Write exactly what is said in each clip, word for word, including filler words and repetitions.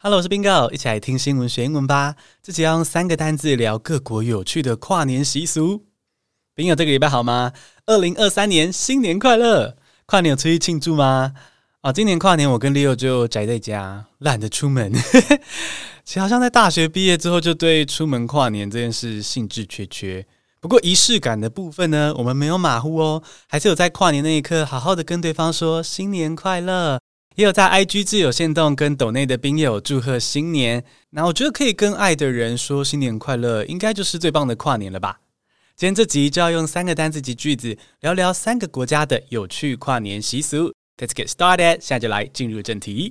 Hello， 我是 Bingo， 一起來聽新聞學英文吧。這集要用三個單字聊各國有趣的跨年習俗。Bingo， 這個禮拜好嗎？二零二三年新年快樂！跨年有出去慶祝嗎？哦，今年跨年我跟 Leo 就宅在家，懶得出門。其實好像在大學畢業之後，就對出門跨年這件事興致缺缺。不過儀式感的部分呢，我們沒有馬虎哦，還是有在跨年那一刻好好的跟對方說新年快樂。也有在 I G 自由限動跟抖內的賓友祝賀新年，那我覺得可以跟愛的人說新年快樂，應該就是最棒的跨年了吧。今天這集就要用三個單字及句子聊聊三個國家的有趣跨年習俗。Let's get started， 現在就來進入正題。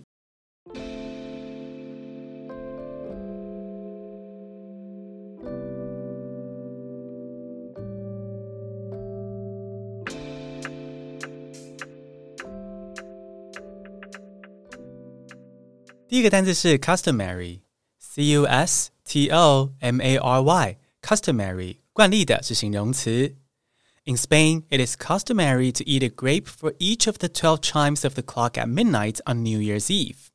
第一個單字是 customary， C U S T O M A R Y， customary， 慣例的是形容詞。In Spain, it is customary to eat a grape for each of the twelve chimes of the clock at midnight on New Year's Eve.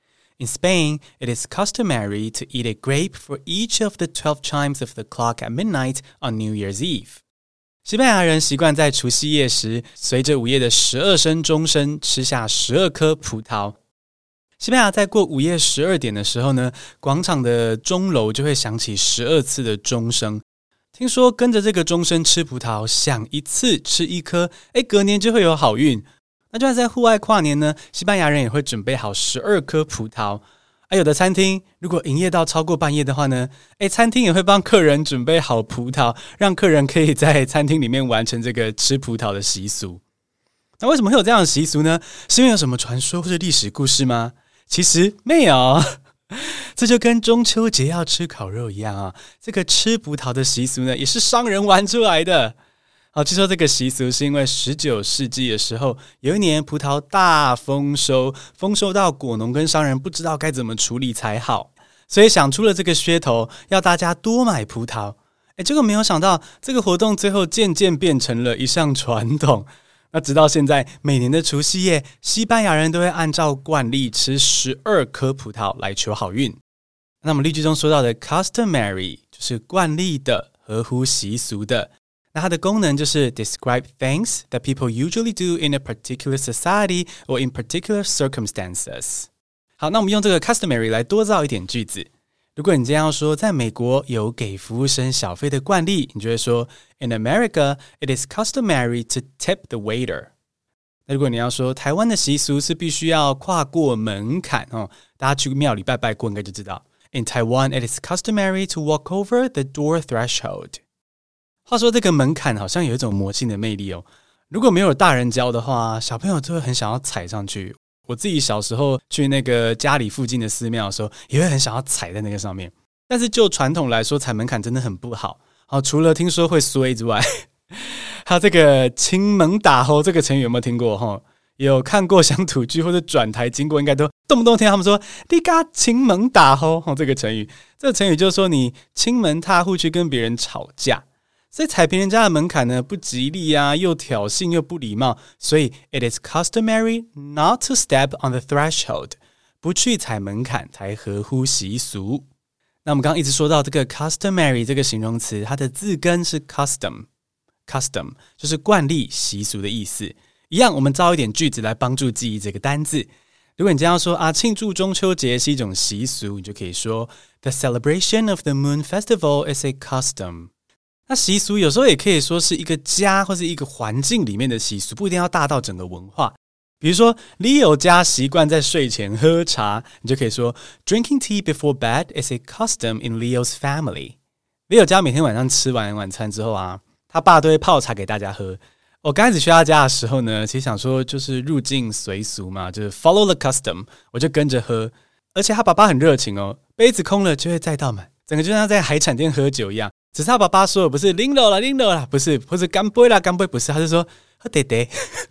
In Spain, it is customary to eat a grape for each of the twelve chimes of the clock at midnight on New Year's Eve. 西班牙人習慣在除夕夜時，隨着午夜的十二聲鐘聲吃下十二顆葡萄。西班牙在過午夜十二點的時候呢，廣場的鐘樓就會響起十二次的鐘聲。聽說跟着這個鐘聲吃葡萄，響一次吃一顆，誒，隔年就會有好運。那就算在戶外跨年呢，西班牙人也會準備好十二顆葡萄。啊，有的餐廳如果營業到超過半夜的話呢，誒，餐廳也會幫客人準備好葡萄，讓客人可以在餐廳裡面完成這個吃葡萄的習俗。那為什麼會有這樣的習俗呢？是因為有什麼傳說或者歷史故事嗎？其實沒有，這就跟中秋節要吃烤肉一樣啊。這個吃葡萄的習俗呢，也是商人玩出來的。好，據說這個習俗是因為十九世紀的時候，有一年葡萄大豐收，豐收到果農跟商人不知道該怎麼處理才好，所以想出了這個噱頭，要大家多買葡萄。誒，結果沒有想到，這個活動最後漸漸變成了一項傳統。那直到現在，每年的除夕夜，西班牙人都會按照慣例吃十二顆葡萄來求好運。那麼例句中說到的 customary 就是慣例的、合乎習俗的。那它的功能就是 describe things that people usually do in a particular society or in particular circumstances。好，那我們用這個 customary 來多造一點句子。如果你這樣說，在美國有給服務生小費的慣例，你就會說 In America, it is customary to tip the waiter. 那如果你要說台灣的習俗是必須要跨過門檻哦，大家去廟裡拜拜過應該就知道。In Taiwan, it is customary to walk over the door threshold. 話說這個門檻好像有一種魔性的魅力哦，如果沒有大人教的話，小朋友就會很想要踩上去。我自己小時候去那個家裡附近的寺廟的時候，也會很想要踩在那個上面。但是就傳統來說，踩門檻真的很不好。好，除了聽說會衰之外，還有這個親門打吼這個成語有沒有聽過？哈，有看過鄉土劇或者轉台經過，應該都動不動聽他們說“你家親門打吼”這個成語。這個成語就是說你親門踏戶去跟別人吵架。所以踩平人家的門檻呢，不吉利啊，又挑釁又不禮貌，所以 it is customary not to step on the threshold， 不去踩門檻才合乎習俗。那我們剛剛一直說到這個 customary 這個形容詞，它的字根是 custom， custom 就是慣例、習俗的意思。一樣，我們造一點句子來幫助記憶這個單字。如果你這樣說啊，慶祝中秋節是一種習俗，你就可以說 The celebration of the Moon Festival is a custom。那習俗有時候也可以說是一個家或是一個環境裡面的習俗，不一定要大到整個文化。比如說 Leo 家習慣在睡前喝茶，你就可以說 Drinking tea before bed is a custom in Leo's family。 Leo 家每天晚上吃完晚餐之後啊，他爸都會泡茶給大家喝。我剛開始去他家的時候呢，其實想說就是入境隨俗嘛，就是 follow the custom， 我就跟着喝。而且他爸爸很熱情哦，杯子空了就會再倒滿，整個就像在海產店喝酒一樣。只是他爸爸說的不是拎了啦拎了啦，不是，或是乾杯啦乾杯，不是，他是說喝爹爹。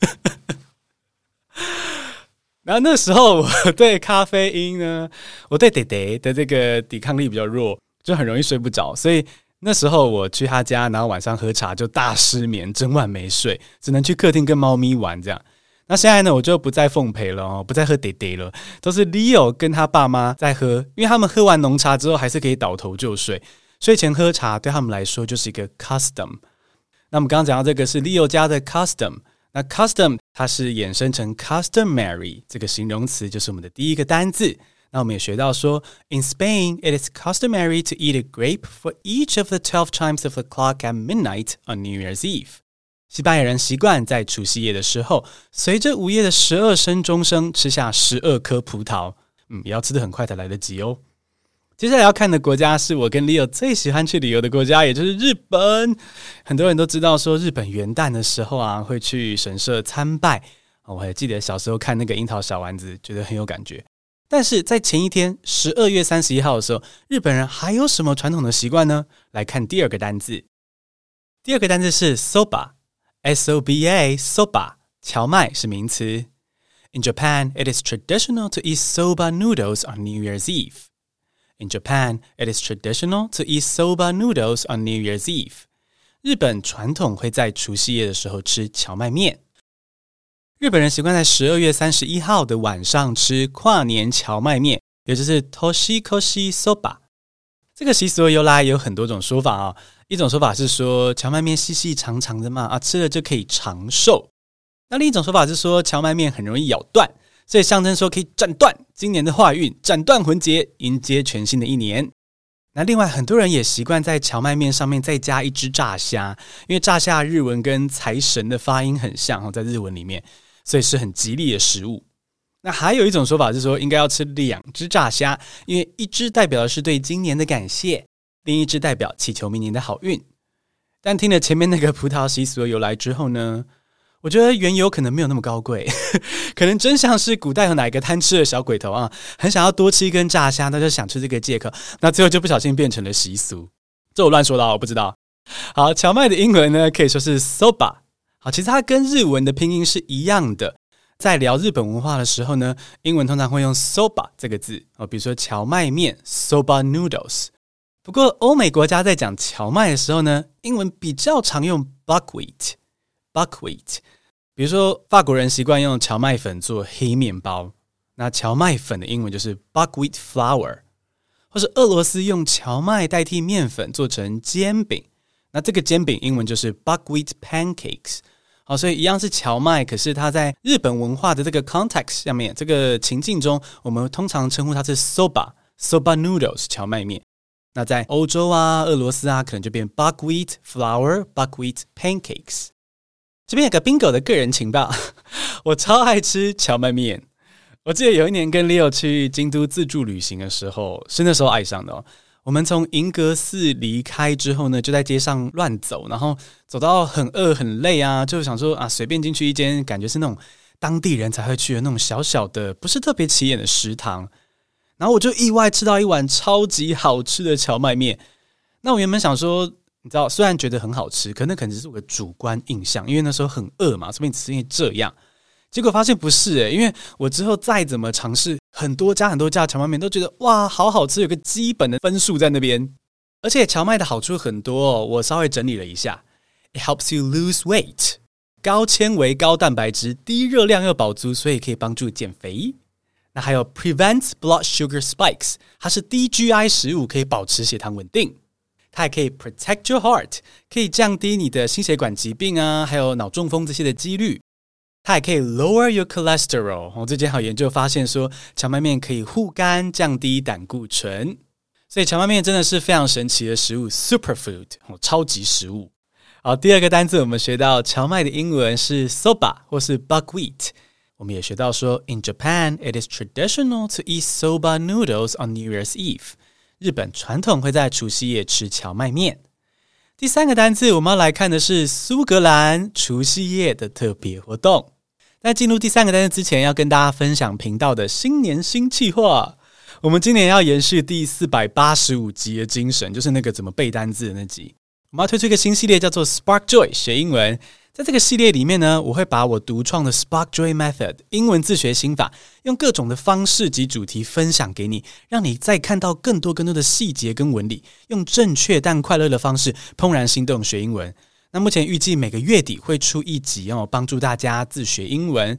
然後那時候我對咖啡因呢，我對爹爹的這個抵抗力比較弱，就很容易睡不着，所以那時候我去他家，然後晚上喝茶就大失眠，整晚沒睡，只能去客廳跟貓咪玩這樣。 那現在呢，我就不再奉陪了哦，不再喝爹爹了，都是 Leo 跟他爸媽在喝，因為他們喝完濃茶之後還是可以倒頭就睡，睡前喝茶對他們來說就是一個 custom。那我們剛剛講到這個是 Leo 家的 custom， 那 custom 它是衍生成 customary 這個形容詞，就是我們的第一個單字。那我們也學到說 In Spain, it is customary to eat a grape for each of the twelve chimes of the clock at midnight on New Year's Eve。西班牙人習慣在除夕夜的時候，隨着午夜的十二聲鐘聲吃下十二顆葡萄，嗯，也要吃得很快才來得及哦。接下來要看的國家是我跟 Leo 最喜歡去旅遊的國家，也就是日本。很多人都知道說日本元旦的時候啊，會去神社參拜。我還記得小時候看那個櫻桃小丸子，覺得很有感覺。但是在前一天十二月三十一號的時候，日本人還有什麼傳統的習慣呢？來看第二個單字。第二個單字是 soba， S O B A soba， 蕎麥是名詞。In Japan, it is traditional to eat soba noodles on New Year's Eve.In Japan, it is traditional to eat soba noodles on New Year's Eve. 日本傳統會在除夕夜的時候吃蕎麥麵。日本人習慣在十二月三十一號的晚上吃跨年蕎麥麵，也就是 Toshikoshi Soba。這個習俗的由來有很多種說法哦。一種說法是說蕎麥麵細細長長的嘛，啊，吃了就可以長壽。那另一種說法是說蕎麥麵很容易咬斷，所以象徵說可以斬斷今年的壞運，斬斷魂結，迎接全新的一年。那另外很多人也習慣在蕎麥麵上面再加一隻炸蝦，因為炸蝦日文跟財神的發音很像，在日文裡面，所以是很吉利的食物。那還有一種說法是說應該要吃兩隻炸蝦，因為一隻代表的是對今年的感謝，另一隻代表祈求明年的好運。但聽了前面那個葡萄習俗的由來之後呢，我覺得緣由可能沒有那麼高貴，可能真像是古代有哪一個貪吃的小鬼頭啊，很想要多吃一根炸蝦，那就想吃這個借口，那最後就不小心變成了習俗。這我亂說的，我不知道。好，蕎麥的英文呢可以說是 soba。好，其實它跟日文的拼音是一樣的。在聊日本文化的時候呢，英文通常會用 soba 這個字，比如說蕎麥麵 soba noodles。不過歐美國家在講蕎麥的時候呢，英文比較常用 buckwheat buckwheat。比如說法國人習慣用蕎麥粉做黑麵包，那蕎麥粉的英文就是 buckwheat flour。或是俄羅斯用蕎麥代替麵粉做成煎餅，那這個煎餅英文就是 buckwheat pancakes。好，所以一樣是蕎麥，可是它在日本文化的這個 context 下面，這個情境中，我們通常稱呼它是 soba soba noodles 蕎麥麵。那在歐洲啊、俄羅斯啊，可能就變 buckwheat flour buckwheat pancakes。這邊有個 bingo 的個人情報，我超愛吃蕎麥麵。我記得有一年跟 Leo 去京都自助旅行的時候，是那時候愛上的哦。我們從銀閣寺離開之後呢，就在街上亂走，然後走到很餓很累啊，就想說啊，隨便進去一間感覺是那種當地人才會去的那種小小的，不是特別起眼的食堂。然後我就意外吃到一碗超級好吃的蕎麥麵。那我原本想說，你知道，雖然覺得很好吃，可那可能只是我的主觀印象，因為那時候很餓嘛，說不定只是因為這樣。結果發現不是誒、欸，因為我之後再怎麼嘗試很多家很多家的蕎麥麵，都覺得哇，好好吃，有個基本的分數在那邊。而且蕎麥的好處很多哦，我稍微整理了一下 ，It helps you lose weight， 高纖維、高蛋白質、低熱量又飽足，所以可以幫助減肥。那還有 prevents blood sugar spikes， 它是低 G I 食物，可以保持血糖穩定。它還可以 protect your heart， 可以降低你的心血管疾病啊，還有腦中風這些的幾率。它還可以 lower your cholesterol。我最近還有研究發現說，蕎麥麵可以護肝，降低膽固醇。所以蕎麥麵真的是非常神奇的食物 ，superfood， 超級食物。好，第二個單字我們學到蕎麥的英文是 soba 或是 buckwheat。我們也學到說 ，In Japan, it is traditional to eat soba noodles on New Year's Eve。日本傳統會在除夕夜吃蕎麥麵。第三個單字我們要來看的是蘇格蘭除夕夜的特別活動。在進入第三個單字之前，要跟大家分享頻道的新年新計劃。我們今年要延續第四百八十五集的精神，就是那個怎麼背單字的那集。我們要推出一個新系列，叫做 Spark Joy 學英文。在這個系列裡面呢，我會把我獨創的 Spark Joy Method 英文自學心法，用各種的方式及主題分享給你，讓你再看到更多更多的細節跟紋理，用正確但快樂的方式怦然心動學英文。那目前預計每個月底會出一集哦，幫助大家自學英文。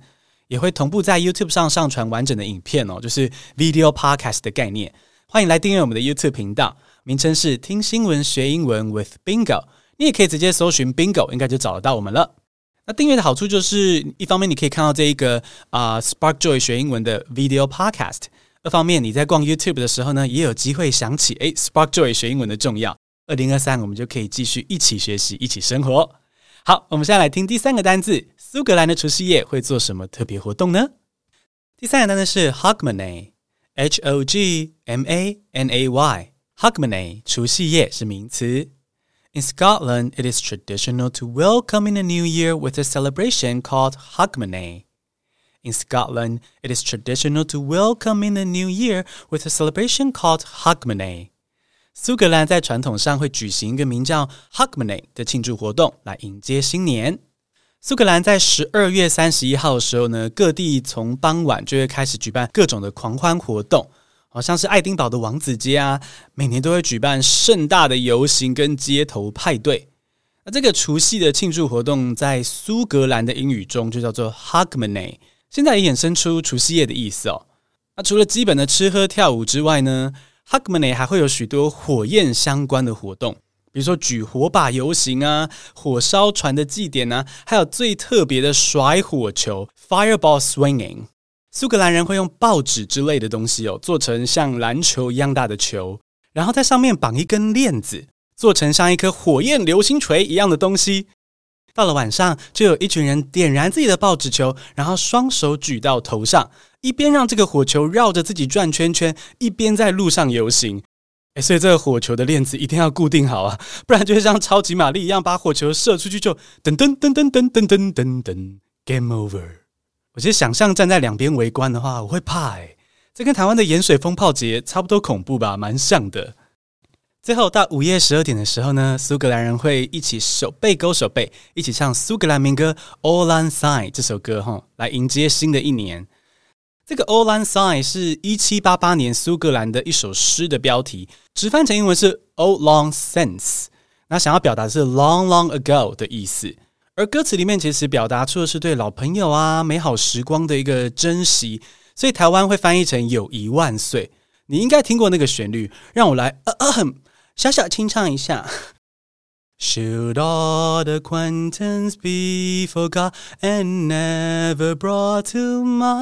也會同步在 YouTube 上上傳完整的影片哦，就是 Video Podcast 的概念。歡迎來訂閱我們的 YouTube 頻道，名稱是聽新聞學英文 with Bingo。你也可以直接搜尋 Bingo， 應該就找得到我們了。那訂閱的好處就是，一方面你可以看到這一個啊、呃、Spark Joy 學英文的 Video Podcast， 二方面你在逛 YouTube 的時候呢，也有機會想起誒 Spark Joy 學英文的重要。二零二三我們就可以繼續一起學習，一起生活。好，我們現在來聽第三個單字，蘇格蘭的除夕夜會做什麼特別活動呢？第三個單字是 Hogmanay， H O G M A N A Y， Hogmanay 除夕夜是名詞。In Scotland, it is traditional to welcome in the new year with a celebration called Hogmanay. In Scotland, it is traditional to welcome in the new year with a celebration called Hogmanay. 蘇格蘭在傳統上會舉行一個名叫 Hogmanay 的慶祝活動來迎接新年。蘇格蘭在十二月三十一號的時候呢，各地從傍晚就會開始舉辦各種的狂歡活動，好像是愛丁堡的王子街啊，每年都會舉辦盛大的遊行跟街頭派對。那這個除夕的慶祝活動在蘇格蘭的英語中就叫做 Hogmanay， 現在也衍生出除夕夜的意思哦。那除了基本的吃喝跳舞之外呢，Hogmanay 還會有許多火焰相關的活動，比如說舉火把遊行啊，火燒船的祭典啊，還有最特別的甩火球 Fireball Swinging。蘇格蘭人會用報紙之類的東西哦，做成像籃球一樣大的球，然後在上面綁一根鏈子，做成像一顆火焰流星錘一樣的東西。到了晚上，就有一群人點燃自己的報紙球，然後雙手舉到頭上，一邊讓這個火球繞着自己轉圈圈，一邊在路上遊行。誒，所以這個火球的鏈子一定要固定好啊，不然就會像超級瑪麗一樣，把火球射出去就噔噔噔噔噔噔噔噔噔 Game Over。我其實想象站在兩邊圍觀的話，我會怕誒，這跟台灣的鹽水蜂炮節差不多恐怖吧，蠻像的。最後到午夜十二點的時候呢，蘇格蘭人會一起手背勾手背，一起唱蘇格蘭民歌 Auld Lang Syne 這首歌齁，來迎接新的一年。這個 Auld Lang Syne 是一七八八年蘇格蘭的一首詩的標題，直翻成英文是 Auld Lang Syne， 那想要表達的是 Long Long Ago 的意思。而歌詞裡面其實表達出的是對老朋友啊、美好時光的一個珍惜，所以台灣會翻譯成友誼萬歲。你應該聽過那個旋律，讓我來呃呃哼小小清唱一下。Should all acquaintance be forgot and never brought to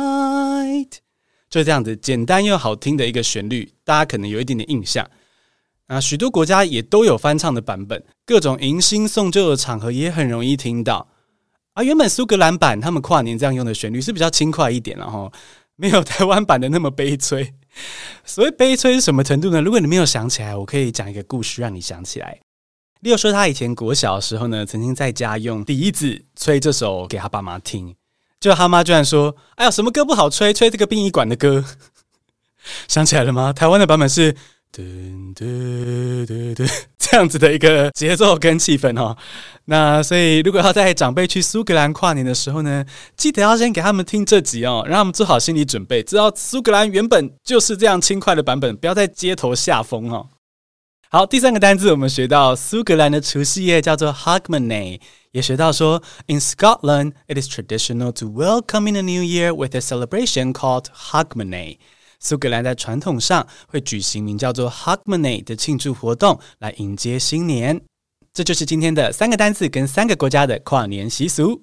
mind？ 就這樣子簡單又好聽的一個旋律，大家可能有一點點印象。啊，許多國家也都有翻唱的版本，各種迎新送舊的場合也很容易聽到。啊，原本蘇格蘭版他們跨年這樣用的旋律是比較輕快一點，然後沒有台灣版的那麼悲催。所謂悲催是什麼程度呢？如果你沒有想起來，我可以講一個故事讓你想起來。例如說，他以前國小的時候呢，曾經在家用笛子吹這首給他爸媽聽，結果他媽居然說：“哎呀，什麼歌不好吹，吹這個殯儀館的歌。”想起來了嗎？台灣的版本是噔噔噔噔這樣子的一個節奏跟氣氛哦。那所以，如果要帶長輩去蘇格蘭跨年的時候呢，記得要先給他們聽這集哦，讓他們做好心理準備，知道蘇格蘭原本就是這樣輕快的版本，不要在街頭下風哦。好，第三個單字我們學到蘇格蘭的除夕夜叫做 Hogmanay， 也學到說 In Scotland, it is traditional to welcome in the new year with a celebration called Hogmanay。蘇格蘭在傳統上會舉行名叫做 Hogmanay 的慶祝活動來迎接新年。這就是今天的三個單字跟三個國家的跨年習俗。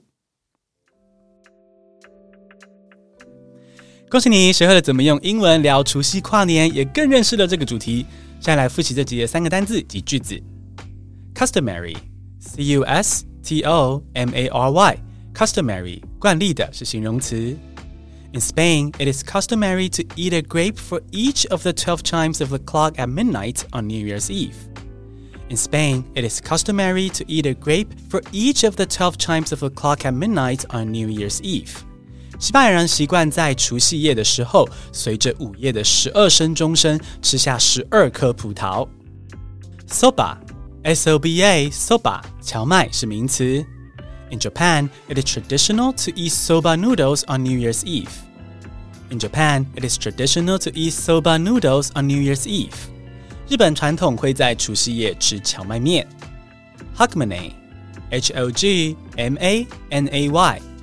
恭喜你學會了怎麼用英文聊除夕跨年，也更認識了這個主題。現在來複習這集的三個單字及句子。Customary C U S T O M A R Y Customary 慣例的是形容詞。In Spain, it is customary to eat a grape for each of the twelve chimes of the clock at midnight on New Year's Eve. In Spain, it is customary to eat a grape for each of the twelve chimes of the clock at midnight on New Year's Eve. 西班牙人習慣在除夕夜的時候，隨着午夜的十二聲鐘聲，吃下十二顆葡萄。Soba, S O B A, soba, 蕎麥是名詞。In Japan, it is traditional to eat soba noodles on New Year's Eve. In Japan, it is traditional to eat soba noodles on New Year's Eve. 日本傳統會在除夕夜吃蕎麥麵。Hogmanay, H O G M A N A Y,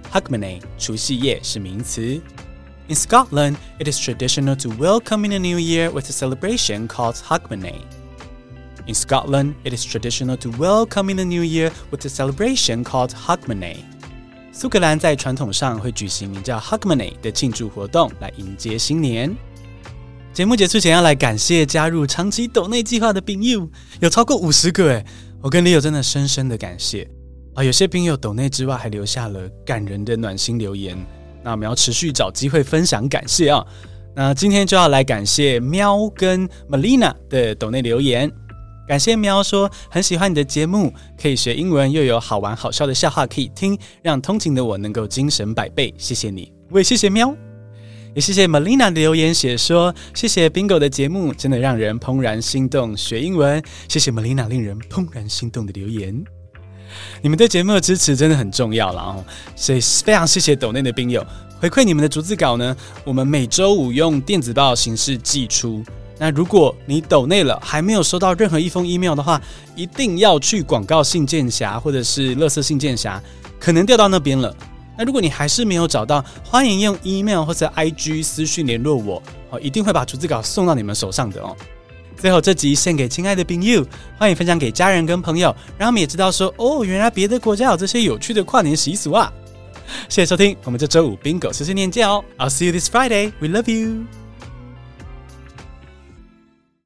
Hogmanay 除夕夜是名詞。In Scotland, it is traditional to welcome in the new year with a celebration called Hogmanay. In Scotland, it is traditional to welcome in the new year with a celebration called Hogmanay. 蘇格蘭在傳統上會舉行名叫 Hogmanay 的慶祝活動來迎接新年。節目結束前要來感謝加入長期抖內計劃的朋友，有超過五十個耶，我跟 Leo 真的深深的感謝啊！有些朋友抖內之外還留下了感人的暖心留言，那我們要持續找機會分享感謝啊！那今天就要來感謝喵跟 Melina 的抖內留言。感謝喵說很喜歡你的節目，可以學英文又有好玩好笑的笑話可以聽，讓通勤的我能夠精神百倍，謝謝你。我也謝謝喵，也謝謝 Melina 的留言寫說謝謝 Bingo 的節目真的讓人怦然心動學英文，謝謝 Melina 令人怦然心動的留言。你們對節目的支持真的很重要啦哦，所以非常謝謝抖內的賓友回饋你們的逐字稿呢，我們每週五用電子報的形式寄出。那如果你抖內了還沒有收到任何一封 email 的話，一定要去廣告信件匣或者是垃圾信件匣，可能掉到那邊了。那如果你還是沒有找到，歡迎用 email 或者 I G 私訊聯絡我，哦，一定會把逐字稿送到你們手上的哦。最後這集獻給親愛的朋友，歡迎分享給家人跟朋友，讓他們也知道說哦，原來別的國家有這些有趣的跨年習俗啊。謝謝收聽，我們這週五 Bingo 碎碎念見哦。I'll see you this Friday. We love you.